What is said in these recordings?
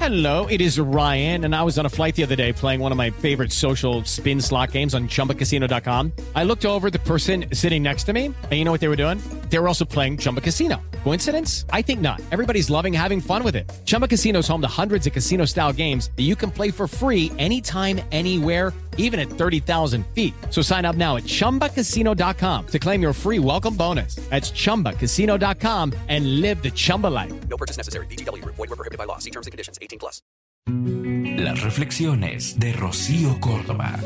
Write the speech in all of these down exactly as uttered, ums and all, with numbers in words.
Hello, it is Ryan, and I was on a flight the other day playing one of my favorite social spin slot games on Chumba Casino dot com. I looked over at the person sitting next to me, and you know what they were doing? They were also playing Chumba Casino. Coincidence? I think not. Everybody's loving having fun with it. Chumba Casino is home to hundreds of casino-style games that you can play for free anytime, anywhere, even at thirty thousand feet. So sign up now at Chumba Casino dot com to claim your free welcome bonus. That's Chumba Casino dot com and live the Chumba life. No purchase necessary. V G W. Void where prohibited by law. See terms and conditions. eighteen plus. Las reflexiones de Rocío Córdoba.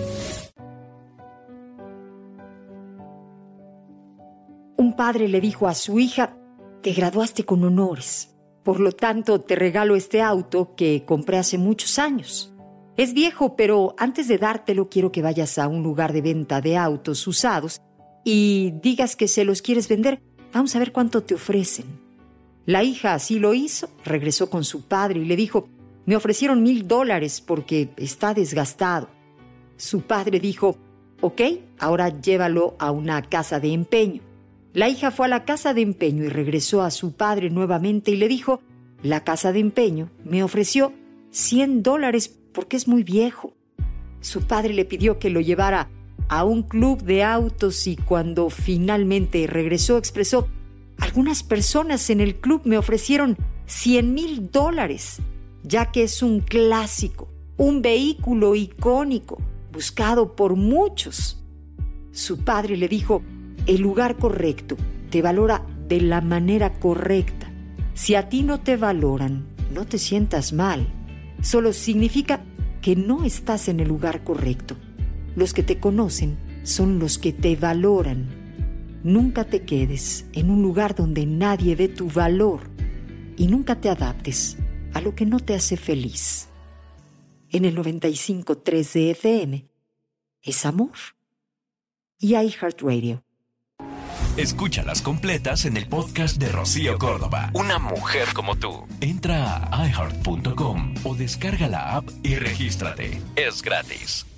Un padre le dijo a su hija: te graduaste con honores, por lo tanto te regalo este auto que compré hace muchos años. Es viejo, pero antes de dártelo quiero que vayas a un lugar de venta de autos usados y digas que se los quieres vender. Vamos a ver cuánto te ofrecen. La hija así lo hizo, regresó con su padre y le dijo: me ofrecieron mil dólares porque está desgastado. Su padre dijo: ok, ahora llévalo a una casa de empeño. La hija fue a la casa de empeño y regresó a su padre nuevamente y le dijo: la casa de empeño me ofreció cien dólares porque es muy viejo. Su padre le pidió que lo llevara a un club de autos y cuando finalmente regresó expresó: algunas personas en el club me ofrecieron cien mil dólares, ya que es un clásico, un vehículo icónico, buscado por muchos. Su padre le dijo: el lugar correcto te valora de la manera correcta. Si a ti no te valoran, no te sientas mal. Solo significa que no estás en el lugar correcto. Los que te conocen son los que te valoran. Nunca te quedes en un lugar donde nadie ve tu valor y nunca te adaptes a lo que no te hace feliz. En el noventa y cinco punto tres de F M es amor. Y iHeartRadio. Escúchalas completas en el podcast de Rocío Córdoba. Una mujer como tú. Entra a i heart punto com o descarga la app y regístrate. Es gratis.